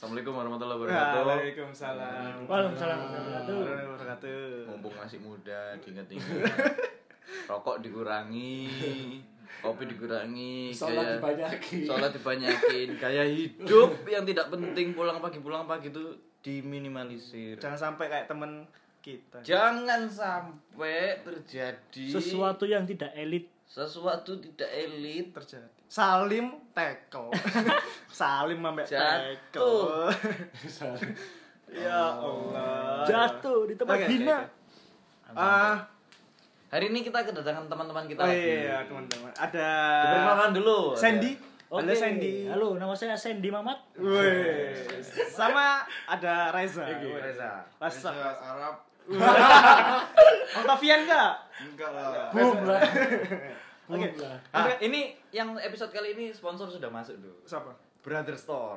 Assalamualaikum warahmatullahi wabarakatuh. Waalaikumsalam. Waalaikumsalam warahmatullahi wabarakatuh. Mumpung masih muda, diinget-inget. Rokok dikurangi, kopi dikurangi, sholat dibanyakin, gaya hidup yang tidak penting pulang pagi itu diminimalisir. Jangan sampai kayak temen kita. Jangan sampai terjadi sesuatu yang tidak elit terjadi. Salim tackle. Salim sampai tackle. Ya Allah. jatuh di tempat hina. Hari ini kita kedatangan teman-teman kita Oh lagi. iya, teman-teman. Ada Diperkenalkan dulu. Sandy. Oke. Halo Sandy. Halo, nama saya Sandy Mamat. Wih. Sama ada Reza. Reza. Reza Arab. Octavian enggak? Enggak lah. Boom lah. Oke. Ini yang episode kali ini sponsor sudah masuk dulu. Siapa? Brother Store.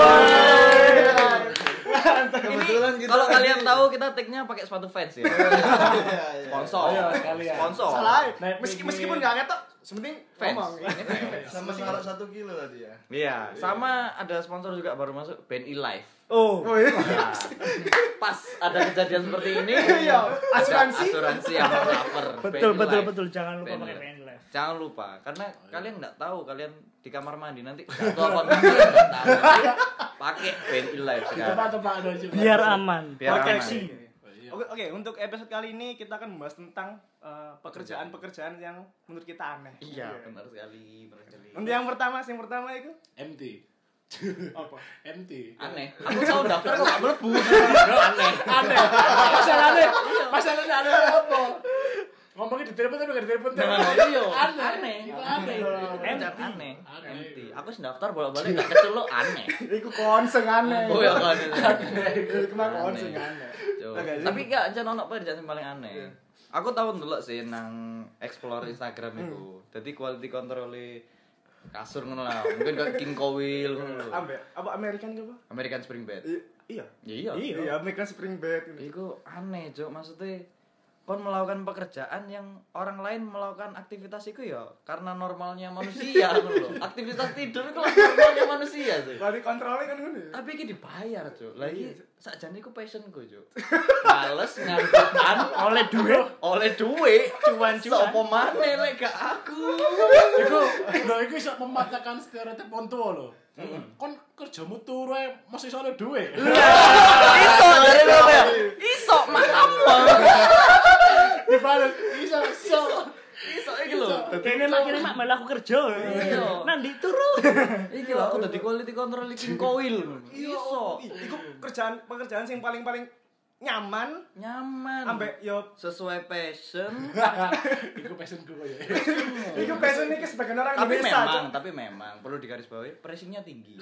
Kebetulan Ini kita kalau kalian tahu kita tag-nya pakai sepatu Vans ya. Sponsor. Ayo, sekalian. Sponsor. Salah. Naik Meskipun enggak ngetok, sepenting Fans. ngomong. Ini fans. sama sekarang 1 kilo tadi ya. Iya, sama ada sponsor juga baru masuk Band E-Life. Oh iya. Nah, pas ada kejadian seperti ini, Iya, ada asuransi. asuransi yang cover. Betul, jangan lupa Band pakai Life. pen live. Jangan lupa, karena kalian nggak tahu kalian di kamar mandi nanti jatuh apa enggak nggak tahu. Pakai Band E-Life sekarang. Tempat-tempat ada juga. Biar aman. Biar aman. Proteksi. Oke, untuk episode kali ini kita akan membahas tentang pekerjaan-pekerjaan yang menurut kita aneh. Iya, benar sekali, benar sekali. Untuk yang pertama itu MT. apa? MT. Aneh. Aku tahu daftar kok nggak mlebu. Aneh. Masalahnya ada apa? Ngomongin di telepon tapi enggak di telepon. Iya, Aneh. Itu aneh. Aneh. Empty. Aku sendaftar bolak-balik gak kecelok aneh. Iku konseng aneh. Oh ya kan. Iku mah konseng aneh. Tapi gak jan ono pekerjaan sing paling aneh. Aku tahu ndelok sih nang explore Instagram itu. Jadi quality control kasur ngono lah. Mungkin kayak King Cowil ngono lho. Apa American apa? American Spring Bed. Iya. Iya. Iya, American Spring Bed. Iku aneh, Cuk. Maksudnya kon melakukan pekerjaan yang orang lain melakukan aktivitas itu ya karena normalnya manusia ngono lho. Aktivitas tidur itu lah normalnya manusia sih. Kalau dikontrolnya kan ngono. Tapi iki dibayar, Cuk. Lagi sakjane iku passionku, Cuk. Males ngantukan oleh duit, cuan-cuan. Sopo maneh lek gak aku. Iku iso mematahkan stereotip wong tua lho. Kon kerjamu turu ae masih iso oleh duit. Iso dari lho ya. Iso makapa. Dibalik iso. Iso iki lho. Kayaknya makin malah aku kerja. Iya. Nanti turu. Iki lho aku dadi quality control King Cowil. Iso. Iku pekerjaan sing paling nyaman ambek yo sesuai passion. Iku passionku koyo. iku passion iki sebagian orang Indonesia. Tapi memang perlu digarisbawahi pressingnya tinggi.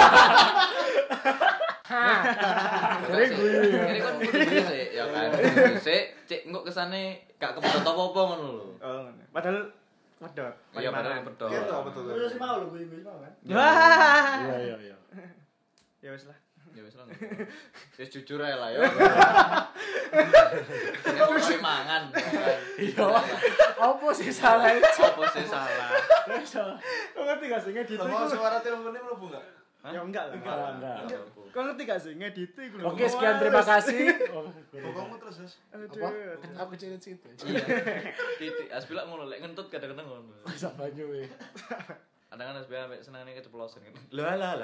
Jadi ini kan kudu sih ya kan. Cek engko kesane gak kepedot apa-apa ngono lho. Oh, padahal pedot. Iya padahal pedot. Itu apa tuh? Terus mau lho gue mau kan. Wah. Iya. Ya wis lah. Ya wis lah. Wis jujur ae lah ya. Ya wis mangan. Iya. Apa sih salah? Apa sih salah? Kau ngerti gak sih ngedit Sama itu? suara teleponnya mlebu enggak? Ya enggak lah. Enggak. Kau ngerti gak sih ngedit itu? Oke, sekian terima kasih. Pokokmu terus, Sus. Apa? Aku cerita situ. Iya. Titik asbilak ngono lek ngentut kadang-kadang ngono. Bisa banyu we. Kadang-kadang asbilak ambek senengane keceplosan gitu. Lah.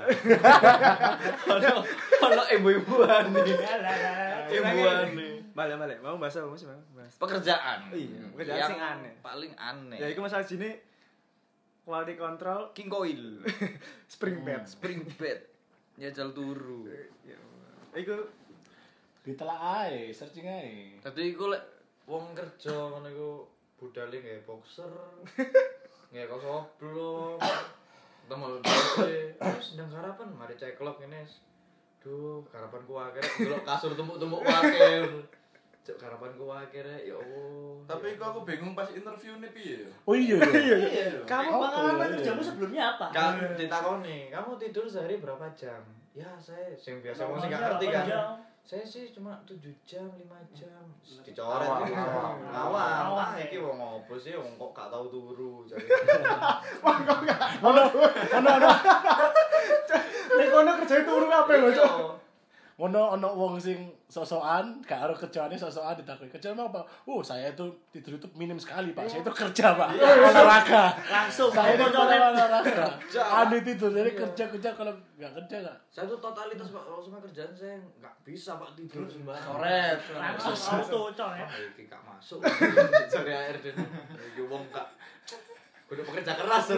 Ono ibu-ibuan nih. Ibu-ibuan nih. Balik. Mau bahas apa sih, Bang? Bahas. Pekerjaan. Iya, pekerjaan Yang sing aneh. Paling aneh. Ya iku masalah sini quality control King Coil. spring bed. Spring bed. Nyajal turu. Iku Ditelak ae, searching ae. Dadi iku lek wong kerja ngono iku budale nggae boxer. Nggae kaos oblong. Temu dhewe. Terus ndang harapan mari ceklok ngene. Duh, harapanku akhirnya delok kasur tumpuk-tumpuk wae. Cuk harapanku akhirnya ya Allah. Tapi kok aku bingung pas interview nih piye ya? Oh iya. Kamu pengalaman kerjamu sebelumnya apa? Kan ditakoni, kamu tidur sehari berapa jam? Ya, saya yang biasa wong sing gak ngerti kan. Saya sih cuma 7 jam, 5 jam. Dicoret awal. Wah, iki wong opo sih wong kok gak tau turu jare. Ono. Nek ngono kerjane turu kabeh lho, Cuk. Ono wong sing sosokan, gak karo kerjaane sosokan ditakoki. Kerjaan apa? Oh, saya itu tidur itu minim sekali, Pak. Saya itu kerja, Pak. Olahraga. Langsung Saya itu koncone. olahraga. Andi tidur, jadi kerja kalau enggak kerja enggak. Saya tuh totalitas Pak, kalau sama kerjaan saya nggak bisa Pak tidur sembarang. Coret. Langsung auto coy. Wah, iki gak masuk. Cari air den. Iki wong gak kudu pekerja keras.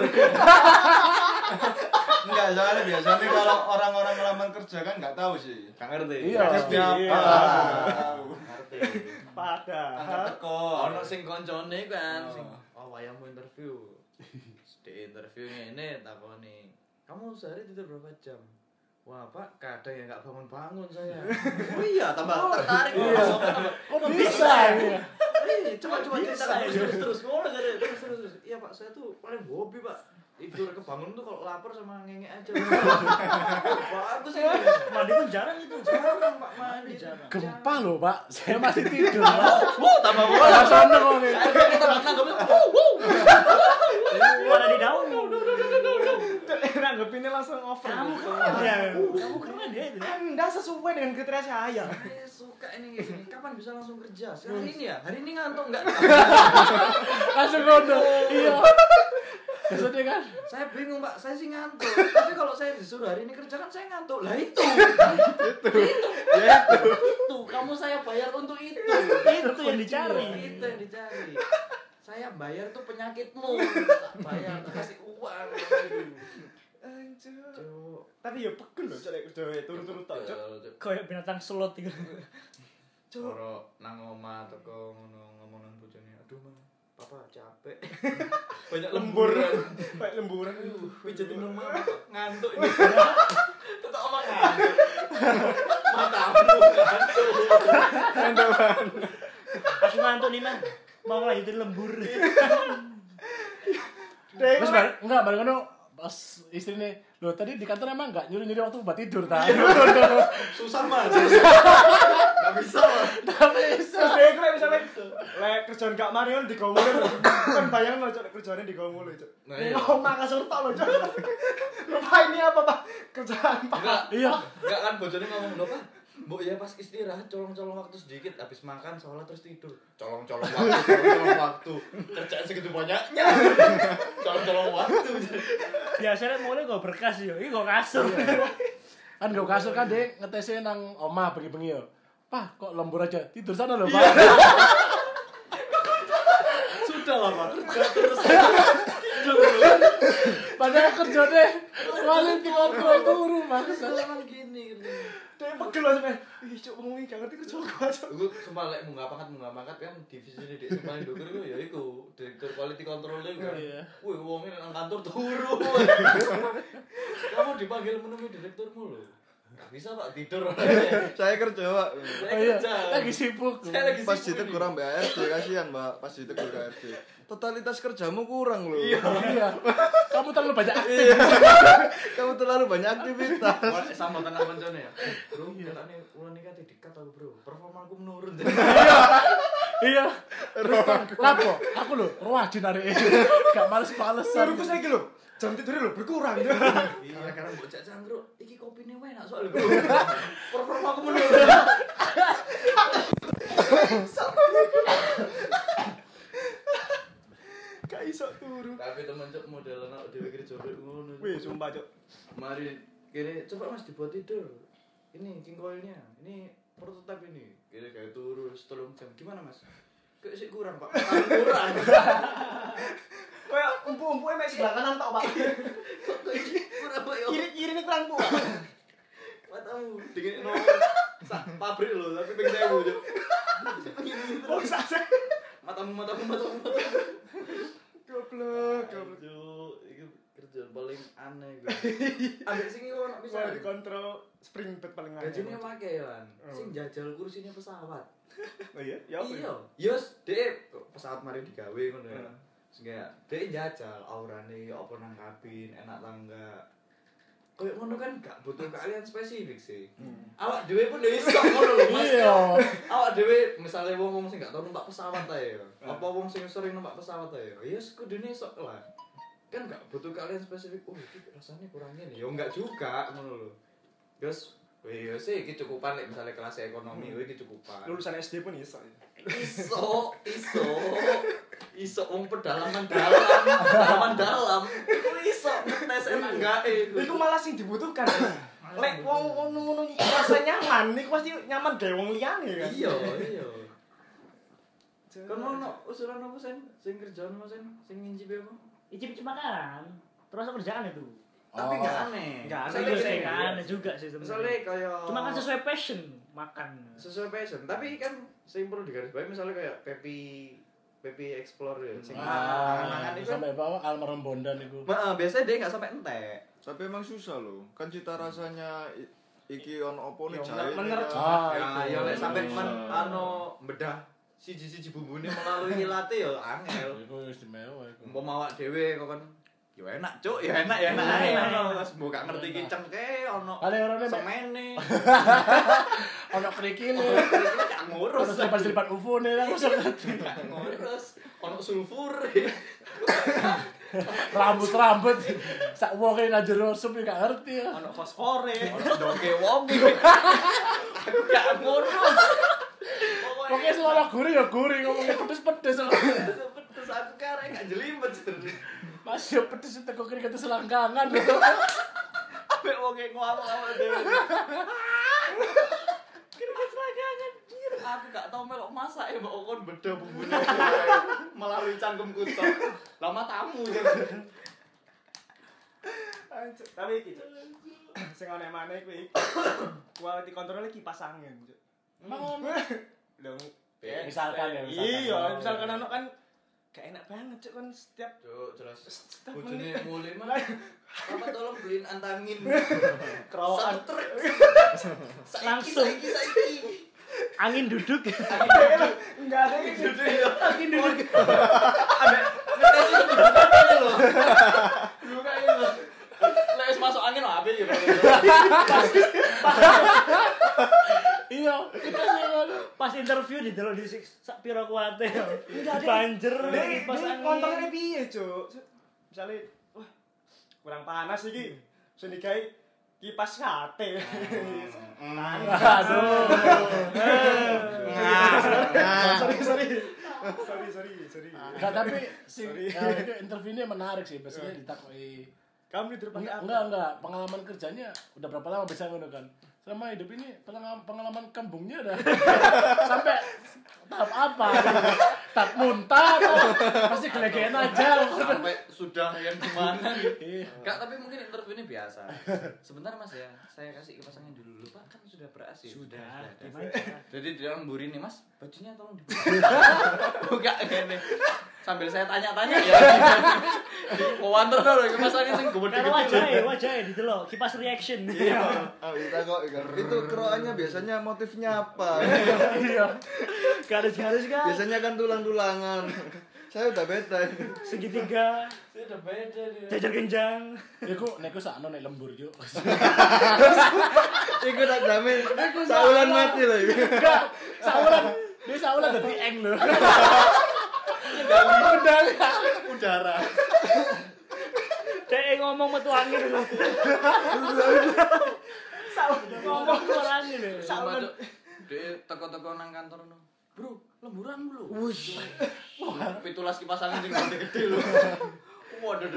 Enggak, soalnya biasanya kalau orang-orang ngelamar kerja kan nggak tahu sih. Gak ngerti. Iya. Siapa? Ngerti. Padahal Teko. Ono sing koncone kan Oh. sing wayangmu interview. Di interview ngene takoni. Kamu sehari tidur berapa jam? Wah Pak, kadang ya nggak bangun-bangun saya. Oh iya, tambah tertarik. Iya. Kok bisa ya? Coba cerita terus. Ngono jadi terus. Iya Pak, saya tuh paling hobi Pak. Tidur kebangun tuh kalau lapar sama ngengek aja. Bagus ini. Mandi pun jarang itu. Jarang Pak mandi. Gempa loh, Pak. Saya masih tidur, Pak. Tambah Wah, seneng kok nih. kita nanggapnya. Ada di daun. nanggepinnya langsung over. Kamu gitu. keren ya. Kamu keren ya itu. Anda sesuai dengan kriteria saya. Saya suka ini. Kapan bisa langsung kerja? Hari ini ya? Hari ini ngantuk enggak? Langsung ngono. Iya. Maksudnya kan? Saya bingung Pak, saya sih ngantuk. Tapi kalau saya disuruh hari ini kerja kan saya ngantuk. Lah itu. Itu. Kamu saya bayar untuk itu. Itu yang dicari. Itu yang dicari. Saya bayar tuh penyakitmu. Bayar kasih uang. Anjir. Cuk. Tapi ya pegel loh cek kerja turu-turu tok, Cuk. Kayak binatang slot gitu. Cuk. Ora nang omah teko ngono ngomong nang bojone. Aduh, Mang. Papa capek. Banyak Lembur. lemburan. Kayak lemburan. Pijetin dong Mama, ngantuk ini. Tetap omong ngantuk. Matamu ngantuk. Aku ngantuk nih, Man. Mau lanjutin lembur. Terus enggak bareng ngono pas istri nih, loh tadi di kantor emang enggak nyuruh-nyuruh waktu buat tidur ta. Susah Mas. Enggak bisa Mas. Terus dia kira misalnya lek kerjaan gak mari kan digomulin lho. Kan bayangin lho Cuk kerjaannya digomulin Cuk. Nah, iya. Ngomong kasur tok lho Cuk. Lupa ini apa Pak? Kerjaan Pak. Enggak, Iya. enggak kan bojone ngomong lho Pak. Mbok ya pas istirahat colong-colong waktu sedikit habis makan sholat terus tidur. Colong-colong waktu. Kerjaan segitu banyaknya. Colong-colong waktu. Biasanya mulai gue berkas yo. Ini gue kasur. Kan gue kasur kan dek ngetesnya nang omah bengi-bengi yo. Pak, kok lembur aja? Tidur sana loh, Pak. Sudah lah Pak. Kerja terus. Padahal kerja deh. Quality control turu, Mas. Memang gini. Dia pegel lho sampe. Ih Cuk ngomongin gak ngerti kerja gua Cuk. Gue sumpah lek munggah pangkat kan divisi ini di paling dokur itu ya iku direktur quality control itu kan. Iya. Wih wongnya nang kantor turu. Kamu dipanggil menemui direkturmu loh. Gak bisa Pak tidur. Saya kerja, Pak. Saya Oh iya, kerja. lagi sibuk. Saya lagi Pas sibuk ditegur ini. ambek ARD kasihan, Mbak. Pas ditegur ARD. Totalitas kerjamu kurang loh. Iya. Kamu terlalu banyak aktif. Iya. Kamu terlalu banyak aktivitas. Wah, sama tenang koncone ya. Bro, katanya ulan nikah dikat aku, Bro. Performaku menurun. Iya. Terus lapo? Aku lho, rajin arek. Gak males-malesan. Suruhku saiki lho. Jam tidurnya lho berkurang. Iya, karena bocah cangkruk. Iki kopine enak soalnya, Bro. Performaku menurun. Gak iso turu. Tapi temen cok model anak dhewe kerja ngono. Wih, sumpah Cuk. Mari kene coba Mas dibuat tidur. Ini king coilnya. Ini prototipe ini. Kira kayak turu 3 jam. Gimana Mas? Kayak sih kurang Pak. Kurang. Kayak umpu-umpuke mek sebelah kanan tok Pak. Kurang Pak yo. Kiri-kiri ini kurang Bu. Matamu dingin no. Pabrik lho, tapi pengen saya Bu. Oh, sase. Matamu. Goblok. Cuk, iki kerjaan paling aneh gue. Ambek sing iku ono Bisa bisa. dikontrol spring bed paling aneh. Gajine make kan. Sing jajal kursinya pesawat. Oh iya? Ya apa? Iya, yos dhek pesawat mari digawe ngono ya. Sing kayak dhek jajal aurane apa nang kabin, enak tangga. Kayak ngono kan gak butuh keahlian spesifik sih. Awak dhewe pun yo iso ngono lho, Mas. Iya. Awak dhewe misale wong sing gak tau numpak pesawat ae ya. Apa wong sing sering numpak pesawat ae ya. Ya kudune iso lah. Kan gak butuh keahlian spesifik. Oh, iki rasane kurang ngene. Ya enggak juga ngono lho. Terus wih sih iki cukupan lek misalnya kelas ekonomi iki cukupan. Lulusan SD pun iso. Iso wong pedalaman dalam. Iku iso tes enak gae. Iku malah sing dibutuhkan. Lek wong ngono-ngono rasa nyaman, iku pasti nyaman gawe wong liyane kan. Iya. Kon ono usulan apa sing kerjaan apa sing ngincipi apa? Icip-icip makanan. Terus kerjaan itu. Tapi enggak aneh. Enggak Misalnya aneh, gini, enggak aneh juga sih sebenarnya. Misalnya kayak Cuma kan sesuai passion makan. sesuai passion, tapi kan sing perlu digarisbawahi misalnya kayak Pepi Explore ya. Sing mangan itu sampai bawah almarhum Bondan iku. biasanya dia enggak sampai entek. Tapi emang susah loh. Kan cita rasanya iki ono opo nih Yo, jahe. bener. Ya lek sampai bedah siji-siji bumbune melalui ilate ya angel. Iku istimewa iku. Umpama awak dhewe kok kan ya enak cuk, ya enak ae. Wes mbok gak ngerti ki cengke ono Kale-orone semene. ono krikile. Gak Ono ngurus. selipan UFO nih langsung ngerti. Gak ngurus. Ono sulfur. Rambut sak wonge nang jero sup gak ngerti ya. Ono fosfore. Ono doke wong iki. Aku gak ngurus. Pokoknya selama gurih ya gurih, ngomongnya pedes-pedes. Pedes aku karek gak jelimet sebenarnya. Mas yo pedes teko kiri kata selangkangan gitu. Ambek wong ngomong-ngomong dhewe. Kira-kira selangkangan. Aku gak tau melok masak ya mbok kon beda bumbune melalui cangkemku tok. Lama tamu jadi. Tapi iki sing ana maneh kuwi quality control kipas angin. Emang Lho, misalkan ya, iya, misalkan anak kan gak enak banget cuk kan setiap Cuk, jelas. Bojone mulai mah. Papa tolong beliin antangin. kerawaan Satu truk. Langsung. Saiki. Angin duduk. enggak ada gitu. Angin duduk. Buka ini loh. Lek wis masuk angin lho apik ya. iya, kita sih ngono. Pas interview di delok di sak pira kuate. Banjer kipas angin. Kontrolnya piye cuk? Misale wah kurang panas iki. Sing digawe kipas sate. Aduh. Sorry. Enggak, tapi sing itu interviewnya menarik sih, biasanya ditakoki. Kamu di tempat apa? Enggak, pengalaman kerjanya udah berapa lama bisa ngono kan? Selama hidup ini pengalaman kembungnya udah sampai tahap apa? Tahap muntah atau pasti gelegean aja. Sampai sudah yang gimana gitu. Iya. Enggak, tapi mungkin interview ini biasa. Sebentar Mas ya, saya kasih kipas angin dulu. Pak kan sudah ber-AC. Sudah. Jadi dia ngemburi nih Mas, bajunya tolong dibuka. Buka gini. Sambil saya tanya-tanya ya. Wawanter dulu kipas angin sing Karo wajahnya didelok kipas reaction. Iya. Ah, kita kok itu keroannya biasanya motifnya apa? Iya. Garis-garis kan. Biasanya kan tulang-tulangan. Saya udah beta. Segitiga. Saya udah beda dia. Jajar genjang. Iku neko sakno nek lembur yo. Iku tak jamin. Saulan mati loh. Enggak, saulan dadi eng lho. Udara. Dek ngomong metu angin lho. Ngomong keluar angin lho. Sama Cuk. Dia teko-teko nang kantor no. Bro, lemburan lu. Wush. Wah, pitulas kipas angin sing gede-gede lho. Waduh.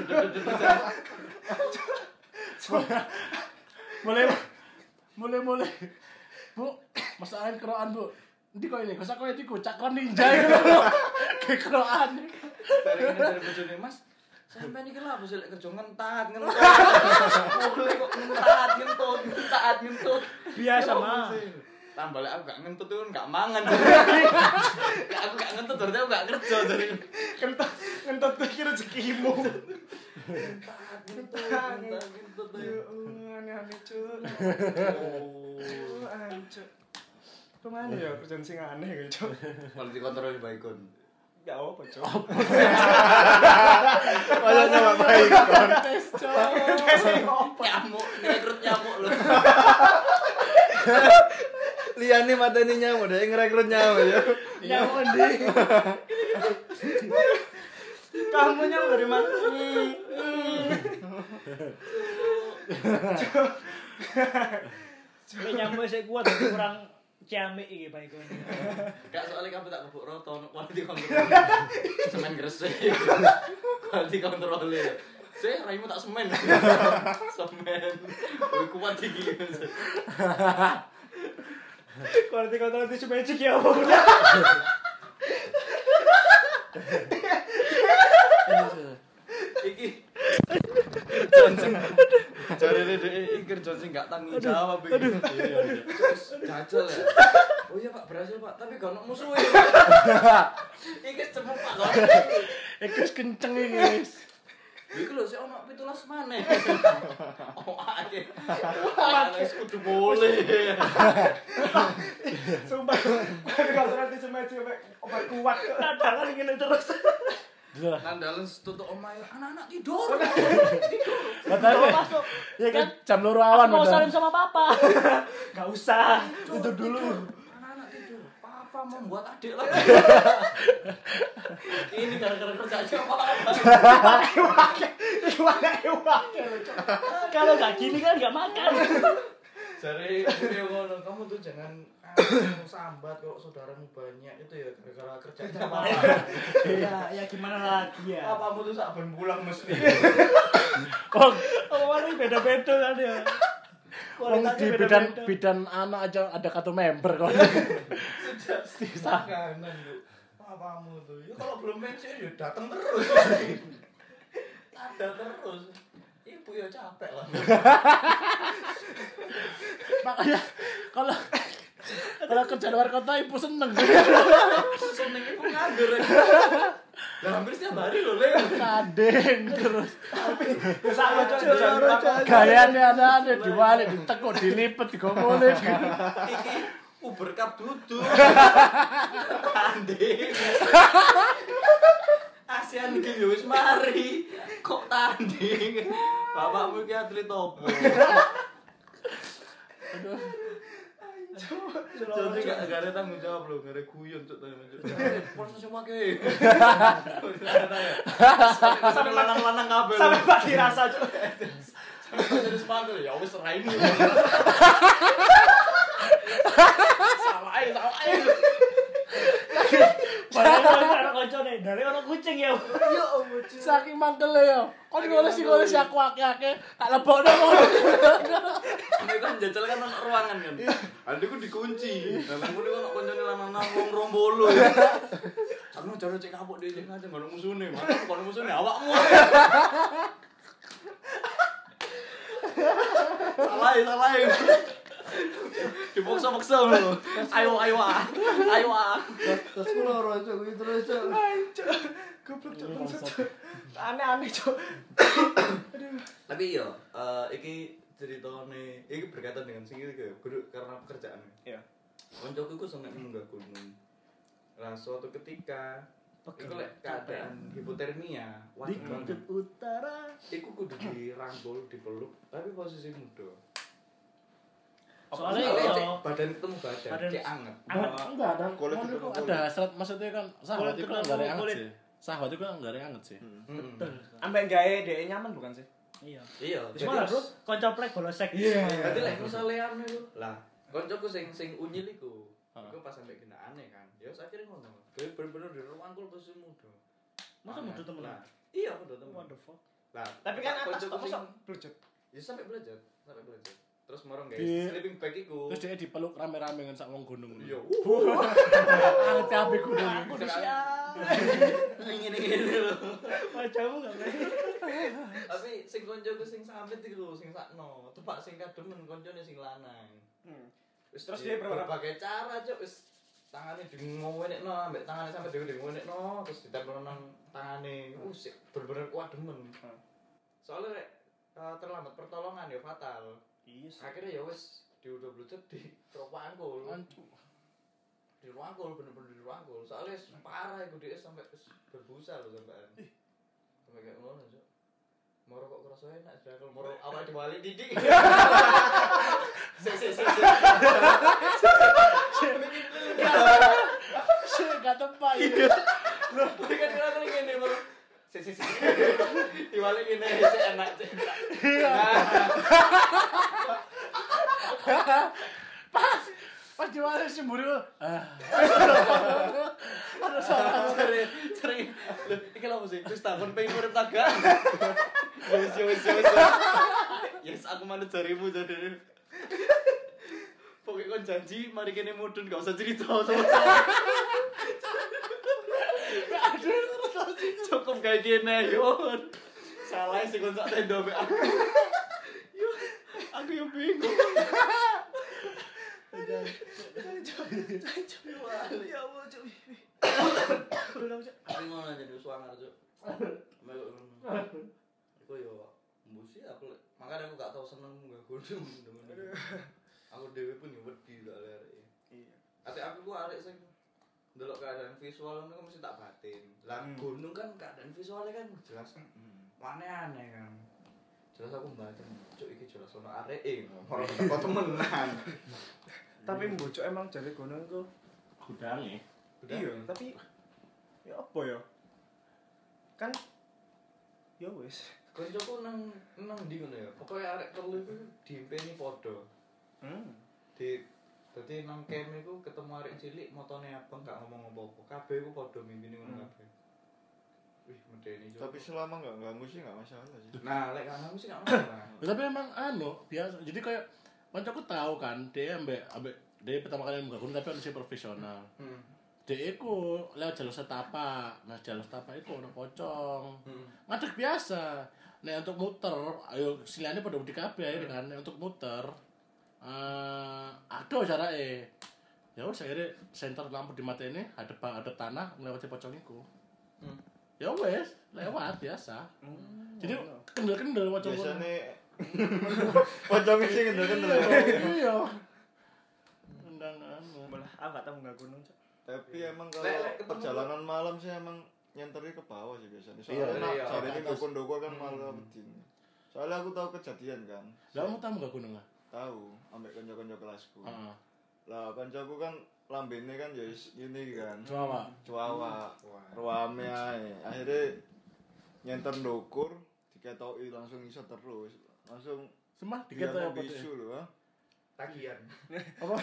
Mulai. Bu, masakan keroan, Bu. Ndi kok ini? Kosak kowe iku cakron ninja iku. Ke keroan. Dari bojone Mas. Sampai niki lha bos lek kerja ngentat. Mulai kok ngentat, ngentut. Biasa mah. Tambah lek aku gak ngentut tuh gak mangan. Aku gak ngentut berarti aku gak kerja dari. Ngentut pikir rezekimu. Ngentut. Aneh-aneh cuk. Ancuk. Kemana ya kerjaan sing aneh gitu. Kalau dikontrol baikon. Gak apa cuk. Malah nggak baik. Tes, Cok. Nyamuk, ngerekrut nyamuk loh. Liane mateni nyamuk, dia ngerekrut nyamuk ya. Nyamuk ndi? Kamu nyamuk dari mana? Nek nyamuk sik kuat kurang ciamik iki bae kowe. Gak soalnya kamu tak kebuk roto untuk quality control. Semen gresik. Quality control. Saya raimu tak semen. Semen. Kowe kuat iki. Quality control itu magic ya apa? Iki Johnson. Jarene dhek iki Johnson gak tanggung jawab iki. Iya. Jajal ya. Oh iya Pak, berhasil Pak, tapi gak ono musuhe. Iki cepet Pak. Iki wis kenceng iki wis. Iku lho sik ono 17 maneh. Oh akeh. Wis kudu boleh. Sumpah. Kalau nanti semedi obat kuat. Dadangan ngene terus. Nandalan tutuk omahe anak-anak tidur. Katanya Masuk. ya kan jam 2 awan Mau udah. salim sama papa. Enggak usah. Tidur dulu. Anak-anak tidur. Papa mau buat adik lagi. Ini gara-gara kerjanya apa? Kalau nggak gini kan nggak makan. Jare beliau ngono, kamu tuh jangan sambat kalau saudaramu banyak itu ya gara-gara kerjanya apa? Ya gimana lagi ya. Papamu tuh sak ben pulang mesti. Oh, Omongan ini beda-beda kan ya. wong di bidan anak aja ada kartu member kok. Sisa kanan lu. Papamu tuh. Ya kalau belum pensiun ya datang terus. Ada terus. Ibu ya capek lah. Makanya kalau kerja luar kota ibu seneng. Seneng ibu nganggur. Lah hampir setiap hari loh, Le. Kadeng terus. Sama Gayane anak-anak diwalik ditekuk dilipet digomole. Iki Uber Cup duduk. Tanding. ASEAN Games ya wis mari. Kok tanding? Bapakmu iki atlet opo? Jadi gak ada tanggung jawab loh, gak ada guyon cuk tanya cuk. Proses semua ke. Sampai lanang-lanang kabel. sampai Pak dirasa Cuk. Sampai jadi sepatu ya wis raine. Salah ae. Padahal anak koncone dari orang kucing ya. Ya Allah, Cuk. Saking mangkele yo. Kon ngoles aku akeh-akeh tak lebokno ngono. Ini kan jajal kan ono ruangan kan. Adikku dikunci. Lah aku niku ono koncone lanang-lanang wong 20. Sakno jare cek kapuk dhewe cek ngajeng ngono musune. Kono musune awakmu. Salah. Dipaksa-paksa lho. Ayo. Terus ku loro cuk iki terus cuk. Goblok Cuk. Aneh-aneh Cuk. Tapi yo iki ceritane iki berkaitan dengan sing iki guru karena pekerjaan. Iya. Koncoku iku seneng munggah gunung. Lah suatu ketika iku lek keadaan hipotermia, Di kutub utara. iku kudu dirangkul, dipeluk, tapi posisi muda. Soalnya Cek badan ketemu badan, cek anget. Enggak ada. Kulit Ngono ketemu iku kulit. ada hasrat maksudnya kan sahabat Kulit itu kan ketemu enggak ada anget kulit. sih. Sahabat itu kan enggak ada anget sih. Betul. Ambek gawe dhek nyaman bukan sih? Iya. Iya. Wis malah bro, kanca plek bolosek. Iya. Berarti lek misale anu iku. Lah, koncoku sing unyil iku. Iku pas sampe genakane kan. Ya akhirnya ngono. Dia bener-bener dirangkul posisi muda. Masa muda temen? Lah, iya muda temen. What the fuck? Lah, Tapi kan atas koncoku kok sing mosok blujut. ya sampai belajar. Terus morong guys, Di- sleeping bag iku. Terus dia dipeluk rame-rame kan sak wong gunung. Iya. Anget cabe gunung. Aku di siap. Ngene-ngene lho. Wajahmu enggak baik. Tapi sing koncoku sing sampe iku sing sakno, tepak sing kademen koncone sing lanang. Wis Terus dia berbagai cara, Cuk, wis tangane dingowenekno, ambek tangane sampe dhewe dingowenekno, terus ditempel nang tangane. Sik bener-bener kuat demen. Soalnya rek terlambat pertolongan ya fatal. Iya sih. Akhirnya ya wis diudah blucet di rangkul. Ancu. Dirangkul bener-bener dirangkul. Soalnya parah iku dia sampai berbusa lho sampean. Sampai kayak ngono, Cuk. Moro kok kerasa enak dirangkul, moro awak diwali didik. Enggak tepat. Loh, kan dirangkul ngene moro. Diwali ngene sik enak, Cuk. Pas diwale semburi Ada salah cari. Lho, iki lho sih? Wis takon pengen urip ta gak? Wis. Yes, aku manut jarimu jadi. Pokoknya kon janji mari kene mudun gak usah cerita sama saya. Cukup kayak gini, yon. Salah sih kon sak tenda mek aku. Yo, aku yang bingung. Ya Allah, Cuk. Aku ngono jadi suangar, Cuk. Iku yo mbusi aku makanya aku gak tau seneng gak godhong temen-temen. Aku dhewe pun yo wedi lek arek. Iya. Ate aku ku arek sing ndelok keadaan visual ngono mesti tak batin. Lah gunung kan keadaan visualnya kan jelas aneh-aneh kan. Jelas aku batin, Cuk iki jelas ono areke ngono. Kok temenan. Tapi mbocok emang jare gunung iku gudange. iya, tapi ya apa ya? Kan ya wis. Koncoku nang ndi ngono ya. Pokoke arek telu iku diimpeni padha. Dadi nang camp iku ketemu arek cilik motone abang gak ngomong apa-apa. Kabeh iku padha mimpini ngono kabeh. Wih, medeni juga. Tapi selama enggak ganggu sih enggak masalah sih. Nah, lek ganggu sih gak masalah. Tapi emang biasa. Jadi kayak kancaku tahu kan, dia dia pertama kali nggak gunung tapi harusnya profesional. Dia iku lewat jalur setapak. Nah, jalur setapak iku ono pocong. Ngadeg biasa. Nek untuk muter, ayo silane pada di kabeh akhirnya kan. Nek untuk muter aduh carake. Ya wis akhirnya senter lampu di mata ini hadap tanah melewati pocong iku. Ya wes, lewat biasa. Jadi kendel-kendel pocong. Biasane pocong sing kendel-kendel. Iya. Undangan. Malah aku gak tau nggak gunung, Cuk. Tapi emang kalau perjalanan malam sih emang nyenteri ke bawah sih biasanya. Soalnya sore ini dukun-dukun kan malah bedin. Soalnya aku tahu kejadian kan. Lah kamu tahu enggak gunung lah? Tahu, ambek kanca-kanca kelasku. Heeh. Lah kancaku kan lambene kan ya ini kan. Cuawa. Ruame ae. Akhirnya nyenter ndukur diketoki langsung iso terus. Langsung Semah diketoki apa bisu lho, ha. Tagihan. Apa?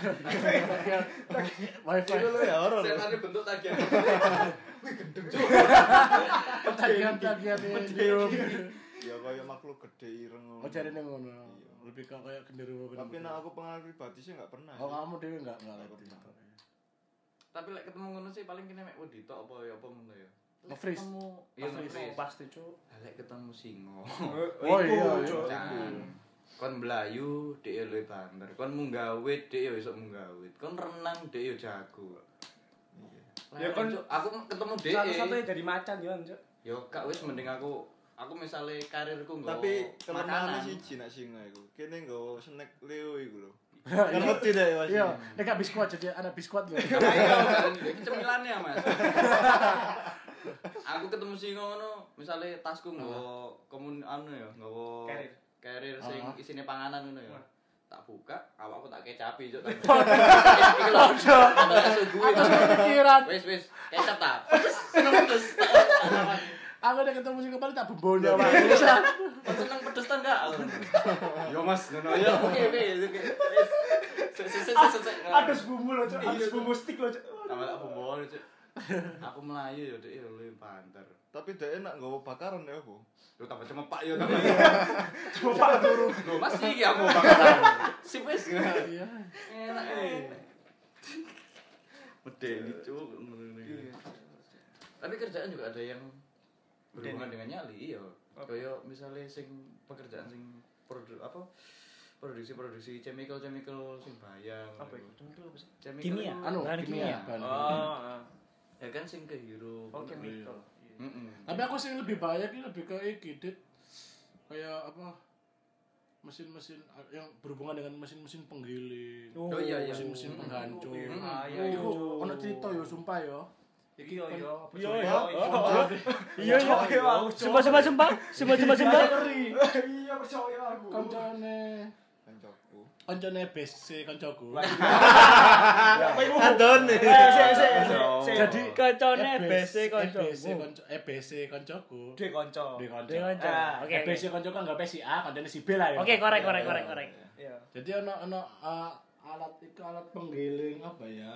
Wifi. Itu lho ya horor. Setane bentuk tagihan. Wih, gendeng juga. Tagihan video. Ya kayak makhluk gede ireng ngono. Oh jarene ngono. Lebih kayak genderuwo. Tapi nek aku pengalaman pribadi sih enggak pernah. Oh kamu dhewe enggak pernah. Tapi lek ketemu ngono sih paling kene mek wedi tok apa ya apa ngono ya. Nge-freeze. Iya nge-freeze. Pasti, Cuk. Lek ketemu singo. Oh iya, Cuk. Kon mlayu dhek yo luwih banter. Kon munggah wit dhek yo iso munggah wit. Kon renang dhek yo jago. Ya kon aku ketemu dhek. Satu-satunya jadi macan yo, Cuk. Yo gak wis mending aku misalnya karirku nggo Tapi kelemahannya makanan. siji nek singa iku. Kene nggo snack Leo iku lho. Kan mesti deh Mas. Iya, nek gak biskuit jadi anak biskuit lho. Ayo kan iki cemilannya Mas. Aku ketemu singo ngono, misalnya tasku nggo komun anu ya, nggo carrier sing isine panganan ngono ya. Tak buka, awakku tak kecapi juk. Iki lho. Atas pikiran. Wis, kecap ta. Pedes. Aku udah ketemu sing kepala tak bumbunya Pak. Bisa. Seneng pedes ta enggak? Yo Mas, ngono ya. Oke. Adus bumbu lo, Cuk. Adus bumbu stick lo, Cuk. Tambah tak bumbu Cuk. Aku melayu ya dhek luwih banter. Tapi dhek enak nggawa bakaran ya apa? Lu tambah cemepak ya tapi. Cemepak turu. Lho Mas iki aku bakaran. Sip wis. Iya. Enak. Medeni Cuk. Tapi kerjaan juga ada yang berhubungan dengan nyali iya. Kayak misalnya sing pekerjaan sing produksi chemical sing bayang. Apa itu? Chemical apa sih? Kimia. Anu, Bahan kimia. Oh. Ya kan sing kehirup. Oh, chemical. Tapi aku sih lebih bahaya ki lebih ke iki Dit. Kayak apa? Mesin-mesin yang berhubungan dengan mesin-mesin penggiling. Oh iya. Mesin-mesin penghancur. Iya. Iku ono cerita yo sumpah yo. Iki Iya. Sumpah. Iya, percaya aku. Kancane Kancaku. koncone BC koncoku. Adon. Jadi Koncone BC konco. EBC koncoku. Dek konco. Di konco. Oke. EBC koncoku anggap si A, koncone si B lah ya. Oke, korek. Iya. Jadi ono alat penggiling apa ya?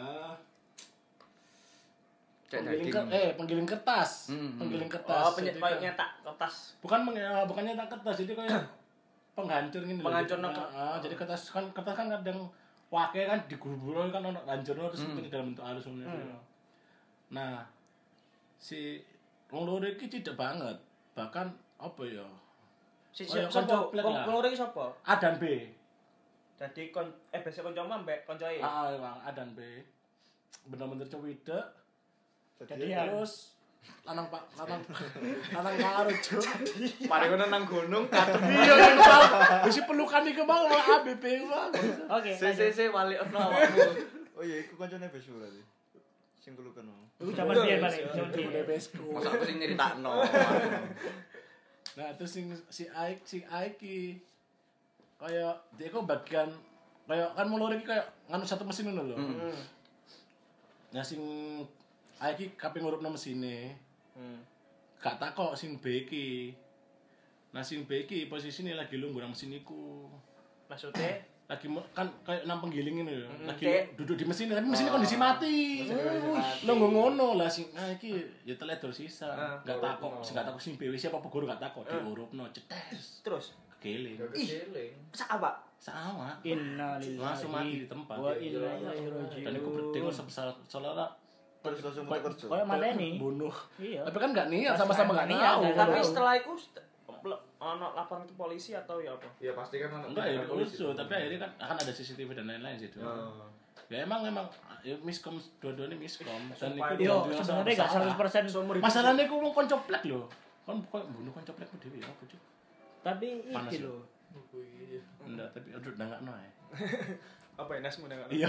Penggiling kertas. Penggiling kertas. Oh, Jadi kayak kan- nyetak kertas. bukan nyetak kertas, jadi kayak penghancur gini loh. Penghancur Jadi, jadi kertas kan kadang wake kan digubur kan ono hancurno terus penting dalam bentuk halus ngono. Nah, si wong loro iki tidak banget. Bahkan apa ya? Siapa? Koncoplek lah. Loro iki sapa? A dan B. Jadi biasa koncomu mbek koncoe. Bang, A dan B. Bener-bener cowidek. Jadian. Terus lanang karo cuk. Mari ngono nang gunung katem. Iya kan Bang. Wis pelukan iki Bang malah ABB Bang. Oke. Se wali ono awakmu. Oh iya, iku kancane besu berarti. Sing pelukan. Iku zaman biyen balik. Zaman biyen. Bebesku. Masa aku sing nyeritakno. Nah, terus si Aiki kayak dia kok bagian kayak kan mulur iki kayak nganu satu mesin ngono lho. Nah, sing Aiki kaping ngurupno mesine. Gak takok sing B iki. Nah, sing B iki posisine lagi lungguh nang mesin iku. Maksudnya Lagi kan kayak nang penggiling ini lho. Lagi Kayak- duduk di mesin tapi mesinnya kondisi mati. Lungguh ngono lah sing iki ya teledor sisa. Gak takok, sing gak takok sing B wis siapa guru gak takok diurupno cetes. terus Keling. Keling. sak apa? Sama. Innalillahi Langsung mati di tempat. wa inna ilaihi raji'un. Dan aku berdeng sebesar soalnya Terus langsung kerja. Kayak mateni. bunuh. Iya. Tapi kan gak niat, sama-sama gak Niat, niat. Tapi setelah itu ono laporan ke polisi atau ya apa? Ya pasti kan ono. Enggak ya polisi, tapi akhirnya kan akan ada CCTV dan lain-lain sih. Oh. Ya emang ya miskom dua-duanya miskom dan Sumpah, itu Yo, sebenarnya gak 100% Seumur hidup. masalahnya aku mau koncoplek loh. Kan kok bunuh koncoplekku dhewe ya apa cuk. tapi Panas iki ya? lho. Enggak, tapi aduh ndangakno ae. Apa ya nasmu dengan? Iya.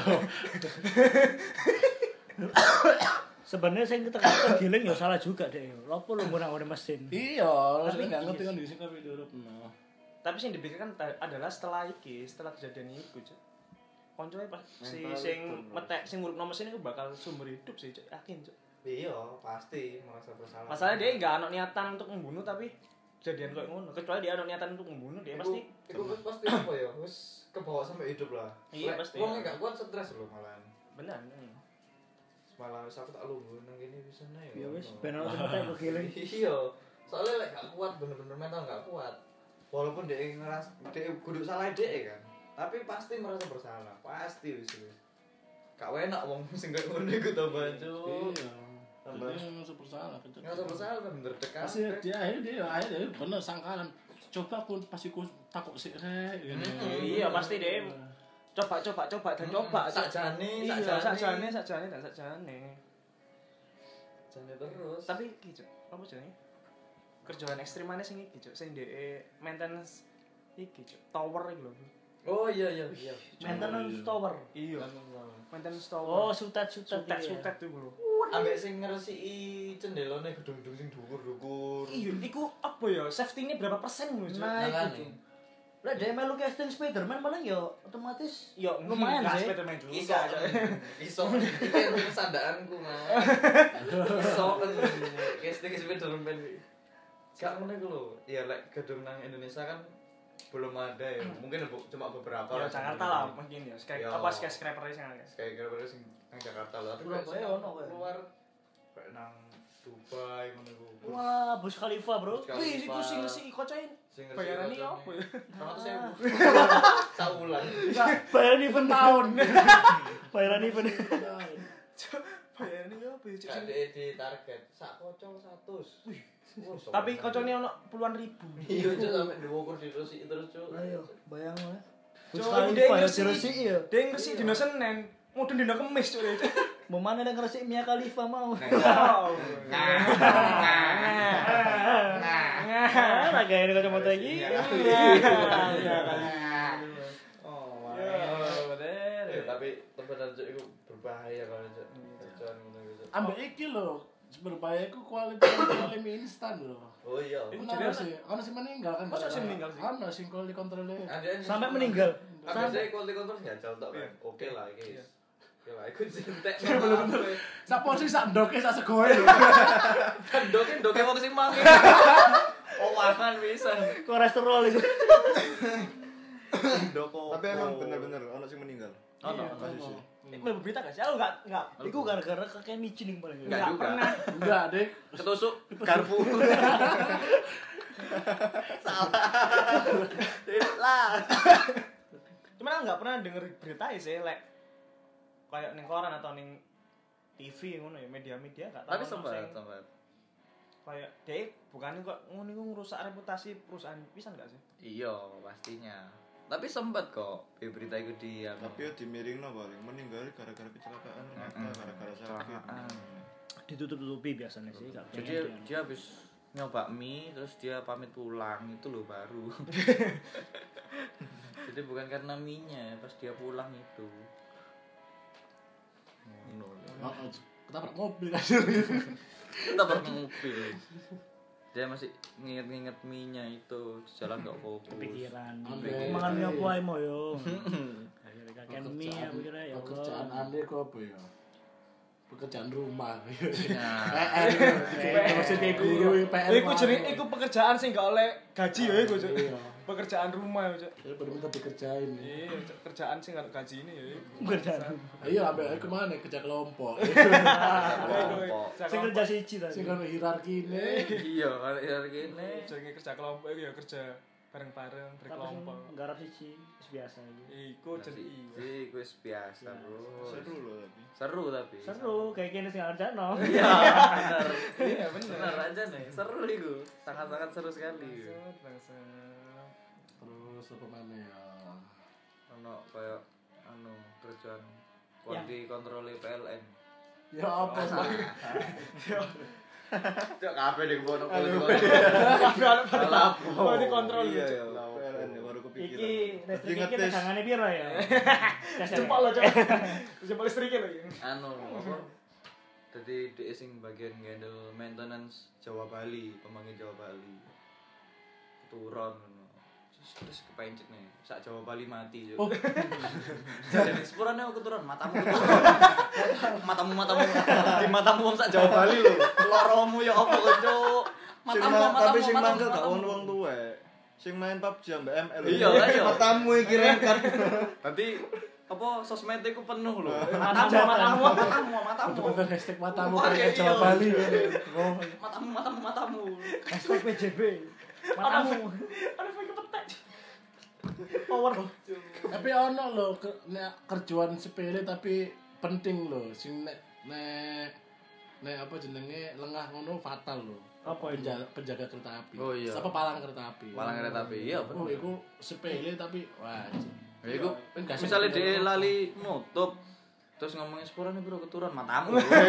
Sebenarnya sing kegiling ya salah juga deh. Lopo lu ngurang-ngurang mesin. Iya, Tapi enggak iya ngerti sih. kan di sini tapi diurupno. Tapi sing dipikirkan adalah setelah kejadian itu, Cuk. Koncoe pas si Mental sing itu, Bro. metek sing ngurupno mesin itu bakal sumber hidup sih, Cuk. Yakin, Cuk. Iya, pasti merasa bersalah. Masalahnya dia enggak ada niatan untuk membunuh tapi kejadian kayak ngono. Kecuali dia ada niatan untuk membunuh, dia pasti Iku pasti apa ya? Wis kebawa sampai hidup lah. Iya, Lek pasti. wong gak kuat stres loh malahan. benar. Malah wis aku tak lungguh nang kene wis ana ya. Ya wis ben ono sing metek kegiling. Iya. Soalnya lek gak kuat bener-bener mental gak kuat. Walaupun dia ngeras dia kudu salah dia kan. Tapi pasti merasa bersalah. Pasti wis. Gak enak wong sing gak ngono iku to baju. Iya. Tambah. Jadi super salah. Ngerasa bersalah kan bener dekat. Pasti dia akhirnya bener sangkalan. Coba aku pasti ku takut sih rek. Iya, pasti dia coba dan coba Sakjane, iya, sakjane. sakjane. Jane terus. Tapi iki, Cuk. Apa jenenge? Kerjaan ekstrim mana sing iki, Cuk? Sing DE maintenance iki, Cuk. Tower iki lho. Oh iya. Maintenance tower. Iya. Maintenance tower. Oh, sutet-sutet. sutet tuh lho. Ambek sing ngresiki cendelone gedung-gedung sing dhuwur-dhuwur. Iya, iku apa ya? Safety-nya berapa persen lho, Cuk? Nah, Makane. itu. Lah dia melu casting Spiderman paling ya otomatis Yo, lumayan sih. Spiderman juga. Iso, iso. Iki kesandaanku mah. Iso kan. Casting Spiderman. Gak ngono iku lho. Ya lek gedung nang Indonesia kan belum ada ya. Mungkin cuma beberapa Ya Jakarta lah mungkin ya. Ya. Apa skyscraper sing ada. Kayak gara-gara sing nang Jakarta lah. Tapi Surabaya lek ono kayak. luar kayak nang Dubai ngono iku. Wah, Burj Khalifa, Bro. Burj Khalifa. Wih, iku sing kocoin. Sing Bayaran ngerti iki apa ya? Rata 100.000. Saulan. Bayaran event tahun. Bayaran event. Bayaran iki apa ya, Cuk? Gak di target. Sak kocok 100. Wih. Tapi kocone ono puluhan ribu. Iya, Cuk, sampe diukur dirusiki terus, Cuk. Ayo, bayang lah. Burj Cuk, Khalifa dia ya ngresiki. diresiki ya. Dia ngresiki dino Senin, mudun dino Kamis, Cuk. Mau mana yang ngresik Mia Khalifa mau. Nah, gaya ini kacamata iki. Oh, Ya, tapi bener Cuk iku berbahaya kalau Cuk. Kerjaan ngono iku, Cuk. Ambek iki lho, berbahaya ku kualitas mie instan lho. Oh iya. Iku jadi sih, ono sing meninggal kan. Masa sing meninggal sih? Ono sing kuali kontrole. Ada yang Sampai suka- meninggal. biasanya quality control jajal tok kan. Oke lah iki. Oke lah iku cintek. Sak posisi sak ndoke sak segoe lho. Doke wong sing mangi. Owangan pisan. Kolesterol itu. Doko. Tapi emang bener-bener ono sing meninggal. Ono. Mlebu berita gak sih? Aku enggak. Iku gara-gara kakek micin yang paling. Enggak juga. pernah. Enggak, Dek. Ketusuk garpu. Lah. Cuman aku nggak pernah denger berita sih, lek kayak ning koran atau ning TV ngono ya, media-media gak tahu. Tapi sempat. Kayak dek bukan kok ngono iku ngerusak reputasi perusahaan pisan gak sih? Iya, pastinya. Tapi sempat kok berita itu di Tapi yo dimiringno paling meninggal gara-gara kecelakaan ternyata gara-gara sakit. Ditutup-tutupi biasanya sih gak Jadi dia habis nyoba mie terus dia pamit pulang itu loh baru. Jadi bukan karena mie-nya, pas dia pulang itu. Ketabrak mobil kan. Ketabrak mobil. Dia masih nginget-nginget mie-nya itu, jalan gak fokus. kepikiran. Ambil. Mangan mie apa ae mo yo. Akhirnya kakek mie aku kira ya Pekerjaan Allah. Anda kok apa ya? Pekerjaan rumah. Nah, Maksud kayak guru PR. Iku jeneng iku pekerjaan sing gak oleh gaji ya iku, Cuk. Iya. Pekerjaan rumah ya, Cuk. Saya bener-bener dikerjain. Iya, Cuk. Kerjaan sing gak gaji ini ya. Kerjaan. Ayo ambil kemana kerja kelompok. kelompok. Sing kerja siji tadi. Sing kan hierarki ini. Iya, kalau kayak gini. Jenenge kerja kelompok iku ya kerja bareng-bareng berkelompok. Garap siji wis biasa iki. Iku jeneng iya. Iku biasa, Bro. Seru loh tapi. Seru. Seru kayak gini sing kerjano. Iya, benar. Iya, bener. Benar aja nih. Seru iku. Sangat-sangat seru sekali. Terus apa mana ya? Ono kayak kerjaan quality control PLN. Ya apa sih? Cok kabeh ning kono quality Kalau dikontrol Iya, Cuk. ya. PLN ya baru kepikiran. Iki listrik iki Ngetes. tegangane piro ya? Cepat lo, Cuk. Cepat listriknya lho. Apa? Jadi dia sing bagian handle maintenance Jawa Bali, pemanggi Jawa Bali. Keturun ngono. Terus kepencet nih, sak Jawa Bali mati yo. Jadi sepurane aku keturun, matamu. Matamu. Di matamu wong sak Jawa Bali lho. Loromu ya apa kok, Cuk? Tapi sing mangkel gak ono wong tuwek. Sing main PUBG ambek ML. Iya lah iya. Matamu iki rengkat. Nanti apa sosmed iku penuh lho. Matamu. Bener hashtag matamu Wah, kayak iya. Jawa Bali. Matamu. Hashtag PJB. Matamu. Ada fake petek. Power. Tapi ono lho kerjaan sepele tapi penting lho. Sing nek apa jenenge lengah ngono fatal lho. Apa itu? Penjaga kereta api. Oh, iya. Apa palang kereta api. Palang kereta api, iya Oh, bener. iku sepele tapi wajib. Ya iku Enggak sih, misalnya bener. dia lali nutup terus ngomongin sepurane bro keturun matamu.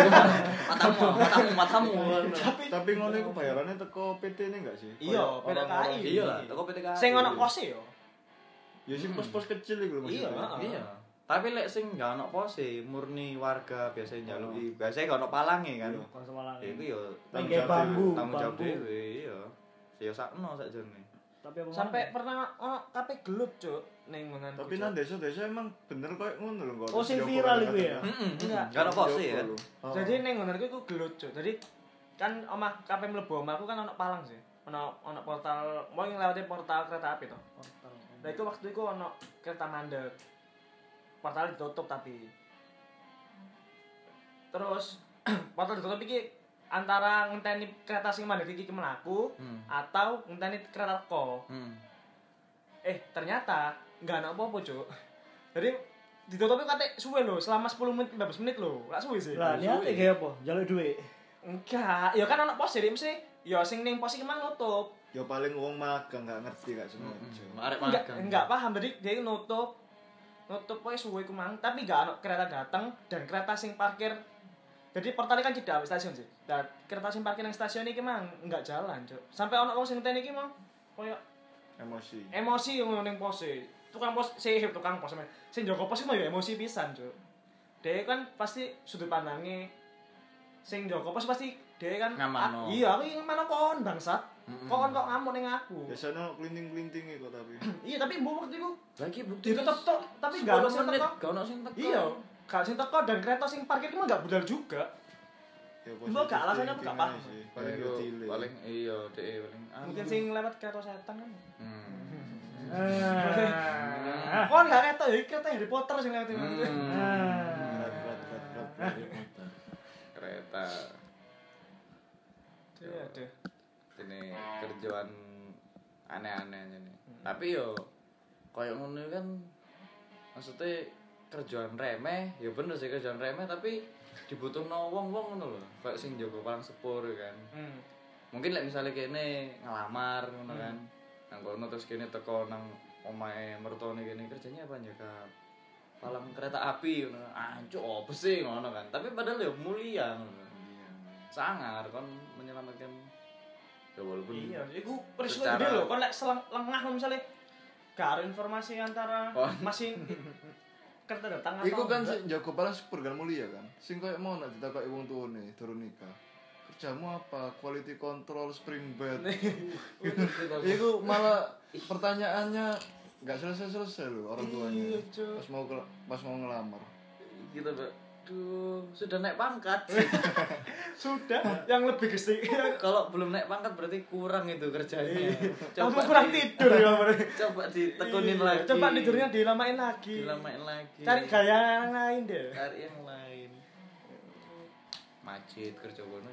Matamu. Tapi ngono iku bayarannya teko PT-ne enggak sih? Iya, Kayak PT KAI. orang-orang Iya lah, toko PTK. Sing ono kose yo. Ya sing pos-pos kecil iku lho Iya, maksudnya. Iya. Tapi lek sing gak ono pose, murni warga biasanya njaluki. Biasanya gak ono palange kan. Konsum malang. Ya iku yo Pakai bambu. tanggung jawab bambu. dhewe, iya. Ya sakno sakjane. Tapi apa Sampai pernah ono kabeh gelut, Cuk, ning mengan. Tapi nang desa-desa emang bener koyo ngono lho kok. Oh, sing viral iku ya? Enggak. Gak ono pose ya. Jadi ning ngono iku gelut, Cuk. Jadi kan omah kabeh mlebu omahku kan ono palang sih. Ono portal, mau nglewati portal kereta api to. Portal. Nah itu waktu itu ono kereta mandek. Portal ditutup tapi. Terus portal ditutup iki antara ngenteni kereta sing mandek iki mlaku atau ngenteni kereta teko. Ternyata enggak ana apa-apa, Cuk. Jadi ditutupnya kate suwe lho, selama 10 menit 15 menit lho. Lak suwe sih. Lah, niate kayak apa? Jaluk duit. Enggak, ya kan ono pos jadi mesti ya sing ning pos iki mang nutup. Ya paling wong magang gak ngerti gak semua. Arek Enggak, magang. enggak paham. Jadi dia nutup pokoke suwe ku mang, tapi enggak ono kereta datang dan kereta sing parkir. Jadi portalnya kan cedhak stasiun sih. Dan kereta sing parkir nang stasiun iki mang enggak jalan, Cuk. Sampai ono wong sing ngenteni iki mang koyo emosi ngono ning pose. Tukang pos sing jaga pos iki mah ya emosi pisan, Cuk. Dia kan pasti sudut pandangnya sing jaga pos pasti dia kan Ngamano. iya, aku ingin mana kon bangsat. Kok ngamuk ning aku. Biasanya kelinting-kelintingi kok tapi. Iya, tapi mbok waktu iku Lagi bukti ditutup tok, tapi gak ono sing teko. gak ono sing teko. Iya, gak sing teko dan kereta sing parkir itu gak budal juga. Ya Mbok gak alasannya apa gak paham. Paling Paling delay. paling iya deh paling. Mungkin sing lewat kereta setan kan. Ah. Kon gak kereta ya, kereta Harry Potter sing lewat itu. Berat. Kereta. Aduh. Ini kerjaan aneh-aneh ini. Tapi yo koyo ngono kan maksudnya kerjaan remeh, ya bener sih kerjaan remeh tapi dibutuhno wong-wong ngono lho. Kayak sing jaga palang sepur kan. Mungkin lek misalnya kene ngelamar ngono kan. Nang kono terus kene teko nang omahe mertone kene kerjanya apa jaga palang kereta api ngono. Anjuk opo sih ngono kan. Tapi padahal ya mulia ngono. Sangar kon menyelamatkan ya walaupun Iya, iku risiko secara- gede lho. Kon lek lengah misalnya gak ada informasi antara masih kereta datang atau Iku kan enggak. sing jago paling sepur kan mulia kan. Sing koyo mau nak ditakoki wong tuane durung nikah. Kerjamu apa? Quality control spring bed. Iku malah pertanyaannya nggak selesai loh orang tuanya. Iya, Cuk. Pas mau ngelamar. kita aduh sudah naik pangkat. Sudah yang lebih gede. Kalau belum naik pangkat berarti kurang itu kerjanya. Kamu kurang tidur ya berarti. Coba ditekunin lagi. Coba tidurnya dilamain lagi. dilamain lagi. Cari gaya yang lain deh. Cari yang lain. Macet kerja kono.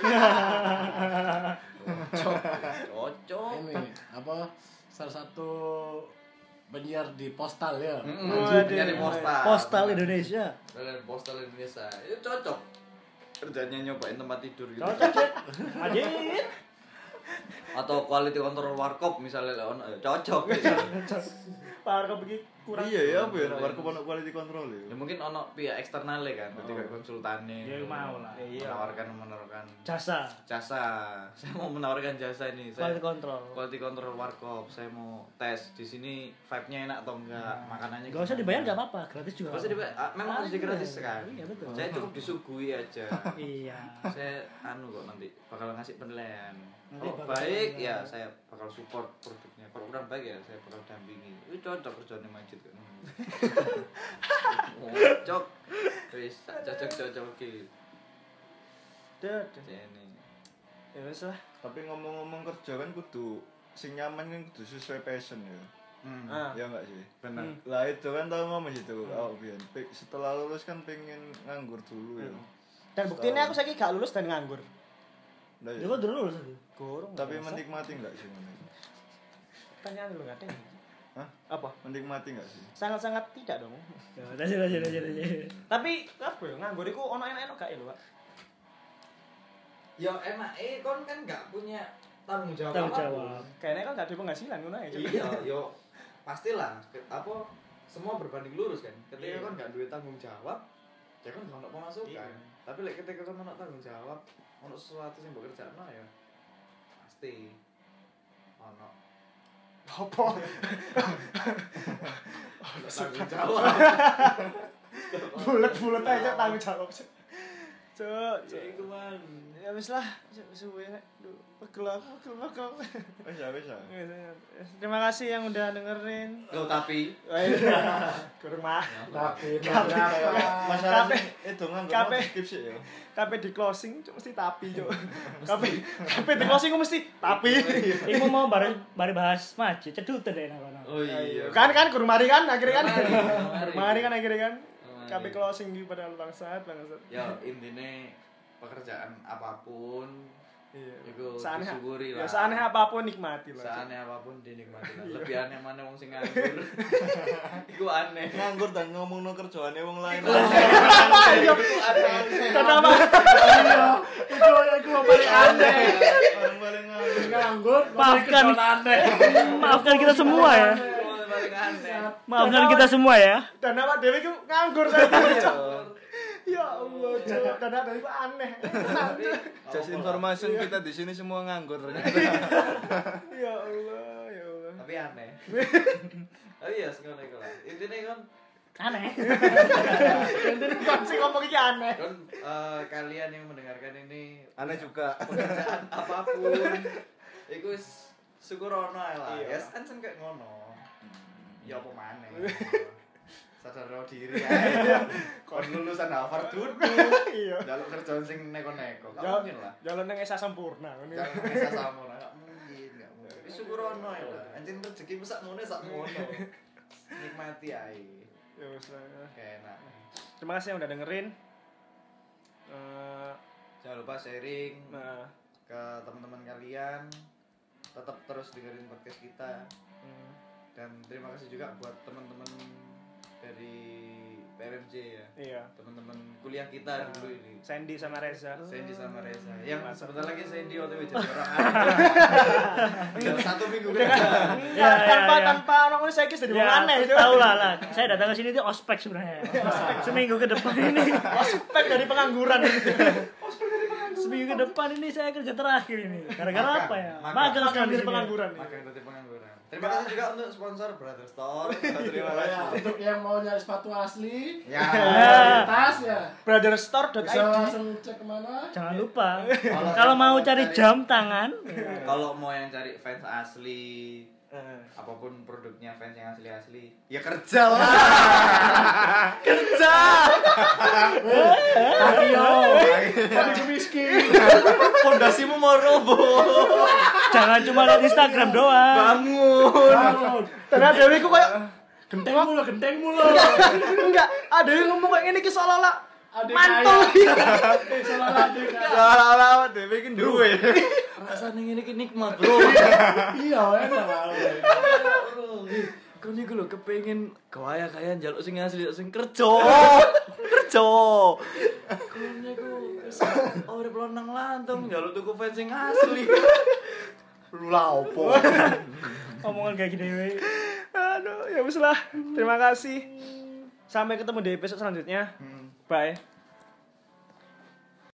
Cocok. Ini apa salah satu penyiar di postal ya. Nyari postal. Postal Indonesia. Dari postal Indonesia. Itu cocok. Kerjanya nyobain tempat tidur gitu. Cocok, Cek. Ajit. Atau quality control warkop misalnya ono cocok. Parah begini kurang. Iya ya apa ya nak warkop ono quality control Ya ya. mungkin ono pihak eksternalnya kan, berarti kayak konsultannya. Ya mau lah. Menawarkan Jasa. jasa. Saya mau menawarkan jasa ini. Quality control. Quality control warkop. Saya mau tes di sini vibe-nya enak atau enggak, makanannya. Gak usah dibayar gak apa-apa, gratis juga. Gak usah dibayar. Memang harus gratis kan. Iya betul. Saya cukup disuguhi aja. Iya. Saya kok nanti bakal ngasih penilaian. Nanti Kalau bakal baik penilaian. ya saya bakal support produknya. Kalau kurang baik ya saya bakal dampingi. Itu cocok kerjanya Majid kan. Cocok. Wis cocok iki. Deh. Ini. Ya wis lah. Tapi ngomong-ngomong kerja kan kudu sing nyaman kan kudu sesuai passion ya. Ah. Ya enggak sih? Benar. Lah itu kan tahu ngomong itu awak biyen. Setelah lulus kan pengen nganggur dulu ya. Dan buktinya aku saiki gak lulus dan nganggur. Lah Ya ya. kok dulu lagi. Gorong. Tapi menikmati enggak sih ngono? Pertanyaan dulu nggak ada. Hah? Apa? Menikmati enggak sih? Sangat-sangat tidak dong. Ya, lanjut. Tapi apa ya nganggur iku ono enak-enak gak ya lho, Pak? Ya enak kon kan gak punya tanggung jawab. Tanggung apapun. jawab. Kayaknya kan gak ada penghasilan ngono aja. Iya, yo pastilah apa semua berbanding lurus kan. Ketika Iya. kan gak duit tanggung jawab, ya kan gak ono pemasukan. Iya. Tapi lek ketika kan ono tanggung jawab, ono sesuatu sing mbok kerjakno ya pasti ono Apa? tanggung jawab. Bulet-bulet aja tanggung jawab. Cuk, Ya iku man. ya wis lah, suwe nek. Duh, pegel aku. Wis ya. Terima kasih yang udah dengerin. Loh tapi Kurang mah. Tapi Masalah Kabeh. itu nganggur Kabeh. skip sih ya. Kabeh di closing cuk mesti tapi cuk. Kabeh di closing mesti tapi. Iku mau bari bahas Majid, cedutan deh nang kono. oh iya. Kan kurang mari kan akhirnya kan. Mari. Kurang mari kan akhirnya kan. Mari. Kabeh closing di pada bangsat. Ya intinya pekerjaan apapun Iya. itu Seaneh- disyukuri lah. Ya seaneh apapun nikmati lah. Seaneh apapun dinikmati lah. Lebih aneh mana wong sing nganggur. Iku aneh. Nganggur dan ngomongno kerjaane wong lain. Ayo. Iku aneh. Kenapa? itu paling aneh. Orang paling nganggur. Nganggur, Maafkan. aneh. Maafkan kita semua ya. Iku paling aneh. Maafkan kita semua ya. Dan awak dhewe iku nganggur saja. Ya Allah, Cuk. Dan awak dhewe iku aneh. Just information kita di sini semua nganggur ternyata. Ya Allah, ya Allah. Tapi aneh. Oh iya, sekolah iku lah. Intine kan Aneh. Intinya kan sih ngomong iki aneh. kan kalian yang mendengarkan ini Aneh juga. pekerjaan apapun Iku wis syukur ono ae lah. Iya. Ya kan kayak ngono. Ya apa maneh. Sadar diri ae. Kon lulusan Harvard dulu. Iya. Jaluk kerjaan sing neko-neko. Gak Ya, mungkin lah. jalan nang Esa Sempurna ngono. Jangan bisa sama gak mungkin, gak mungkin. Wis syukur ono ae lah. Anjing rezeki sak ngono. Nikmati ae. Ya wis lah. Enak. Terima kasih yang udah dengerin. Jangan lupa sharing Nah, ke teman-teman kalian. Tetap terus dengerin podcast kita. Dan terima kasih juga buat teman-teman dari PRMJ ya. iya. Teman-teman kuliah kita dulu ini. Sandy sama Reza. Sandy sama Reza. Yang sebentar lagi Sandy OTW jadi orang Dan 1 minggu Ya, tanpa orang ini saya kis jadi Ya, aneh itu. tahu lah. Saya datang ke sini itu ospek sebenarnya. Seminggu ke depan ini. Ospek dari pengangguran. Seminggu ke depan ini saya kerja terakhir ini. Gara-gara apa ya? Magang. Magang sekarang di Dari sini. pengangguran. Makan dari pengangguran. Terima kasih juga untuk sponsor Brother Store. Terima Ya, kasih. untuk yang mau nyari sepatu asli, Ya. tas ya. Brotherstore.id. Bisa langsung cek kemana? Jangan lupa. Kalau mau cari jam tangan, Kalau mau yang cari fans asli, apapun produknya fans yang asli-asli, ya kerja lah. Tapi miskin. Fondasimu mau roboh. jangan cuma lihat Instagram doang. Bangun. Karena Dewi ku kayak Genteng mulu. enggak, ada yang ngomong kayak gini ki seolah-olah Adik mantul. Salah adik kaya. Salah-salah dhewe iki duwe. Rasane ngene iki nikmat, Bro. Iya, enak banget. Kau niku lho kepengin kaya-kaya njaluk sing asli sing kerja. Kerja. Kau niku urip lonang lantung njaluk tuku fans sing asli. Lu lah opo? Omongan kayak gini. we. Aduh, ya wis lah. Terima kasih. Sampai ketemu di episode selanjutnya. Bye.